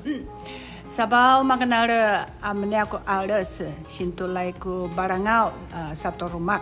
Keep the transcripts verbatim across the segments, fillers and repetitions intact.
嗯Sabaw maganaler amnya ko alas sintulay ko barangao uh, sa torumak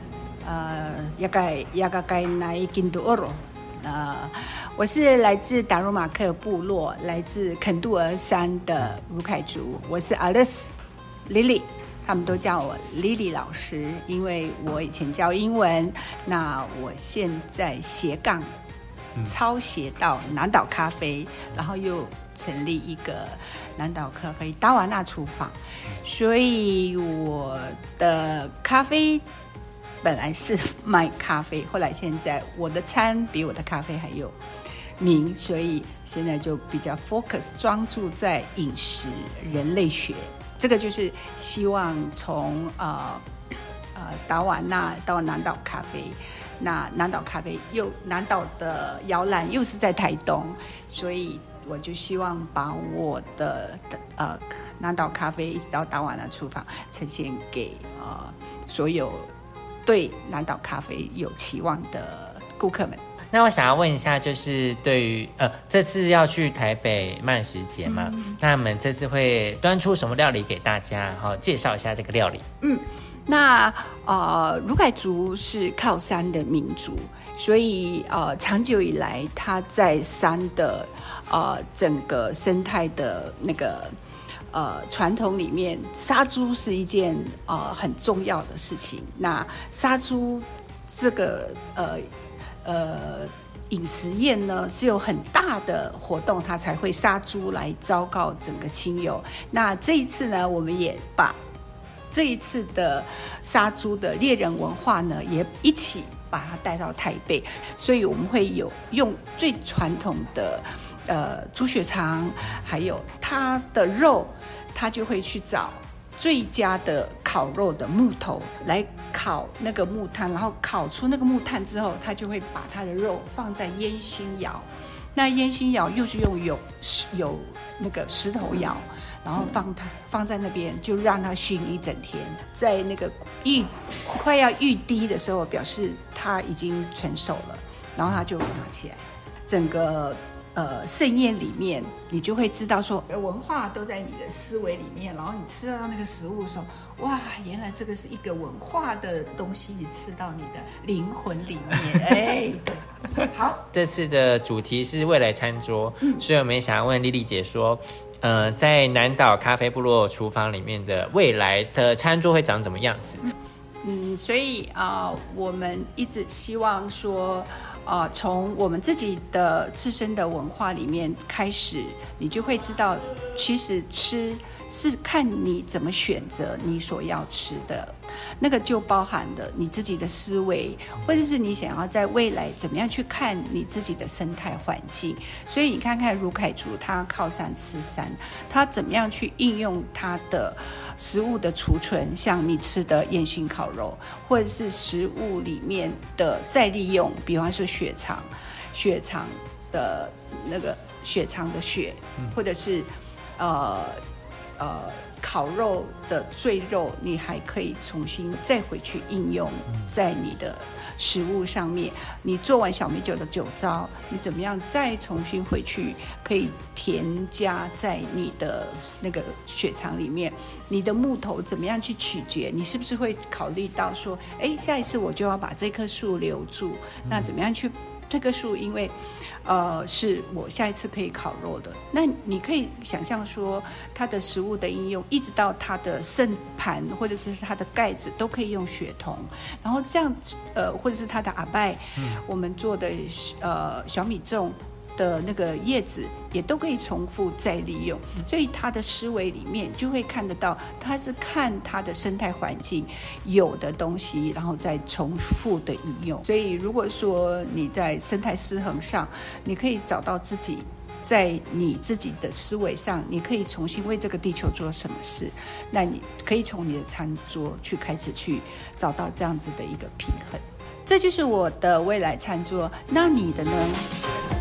uh, yakay yakay na ikinduoro 呃，我是来自达鲁马克部落，来自肯杜尔山的卢凯族，我是 Alice Lily， 他们都叫我 Lily 老师，因为我以前教英文，那我现在斜杠抄写到南岛咖啡，然后又成立一个南岛咖啡达瓦纳厨房，所以我的咖啡本来是卖咖啡，后来现在我的餐比我的咖啡还有名，所以现在就比较 focus 专注在饮食人类学，这个就是希望从呃呃达瓦纳到南岛咖啡，那南岛咖啡又南岛的摇篮又是在台东，所以我就希望把我的呃南岛咖啡一直到达瓦纳厨房呈现给呃所有对南岛咖啡有期望的顾客们。 那我想要问一下，就是对于呃这次要去台北慢食节嘛，嗯、那我们这次会端出什么料理给大家，然后介绍一下这个料理。 嗯，那呃卢凯族是靠山的民族，所以呃长久以来他在山的呃整个生态的那个呃，传统里面杀猪是一件呃很重要的事情。那杀猪这个呃呃饮食宴呢，只有很大的活动，它才会杀猪来昭告整个亲友。那这一次呢，我们也把这一次的杀猪的猎人文化呢，也一起把它带到台北，所以我们会有用最传统的呃猪血肠，还有它的肉，它就会去找最佳的烤肉的木头来烤那个木炭，然后烤出那个木炭之后，它就会把它的肉放在烟熏窑，那烟熏窑又是用有有那个石头窑，然后放它放在那边，就让它熏一整天，在那个预快要预滴的时候，表示它已经成熟了，然后它就拿起来，整个呃盛宴里面，你就会知道说文化都在你的思维里面，然后你吃到那个食物的时候，哇，原来这个是一个文化的东西，你吃到你的灵魂里面，哎，对，好， 这次的主题是未来餐桌，嗯、所以我们也想要问莉莉姐说。呃，在南岛咖啡部落厨房里面的未来的餐桌会长怎么样子？ 嗯，所以啊、呃，我们一直希望说，呃，从我们自己的自身的文化里面开始，你就会知道，其实吃是看你怎么选择你所要吃的，那个就包含了你自己的思维，或者是你想要在未来怎么样去看你自己的生态环境。所以你看看卢凯族，他靠山吃山，他怎么样去应用他的食物的储存，像你吃的烟熏烤肉，或者是食物里面的再利用，比方说血肠，血肠的那个血肠的血，或者是呃呃烤肉的赘肉，你还可以重新再回去应用在你的食物上面。你做完小米酒的酒糟，你怎么样再重新回去可以添加在你的那个血肠里面？你的木头怎么样去取决？你是不是会考虑到说，哎，下一次我就要把这棵树留住？那怎么样去？这棵树因为呃是我下一次可以烤肉的，那你可以想象说它的食物的应用一直到它的盛盘或者是它的盖子都可以用血桐，然后这样呃或者是它的阿拜、嗯、我们做的呃小米粽的那个叶子也都可以重复再利用，所以他的思维里面就会看得到，他是看他的生态环境有的东西，然后再重复的应用。所以如果说你在生态失衡上，你可以找到自己在你自己的思维上，你可以重新为这个地球做什么事，那你可以从你的餐桌去开始去找到这样子的一个平衡。这就是我的未来餐桌，那你的呢？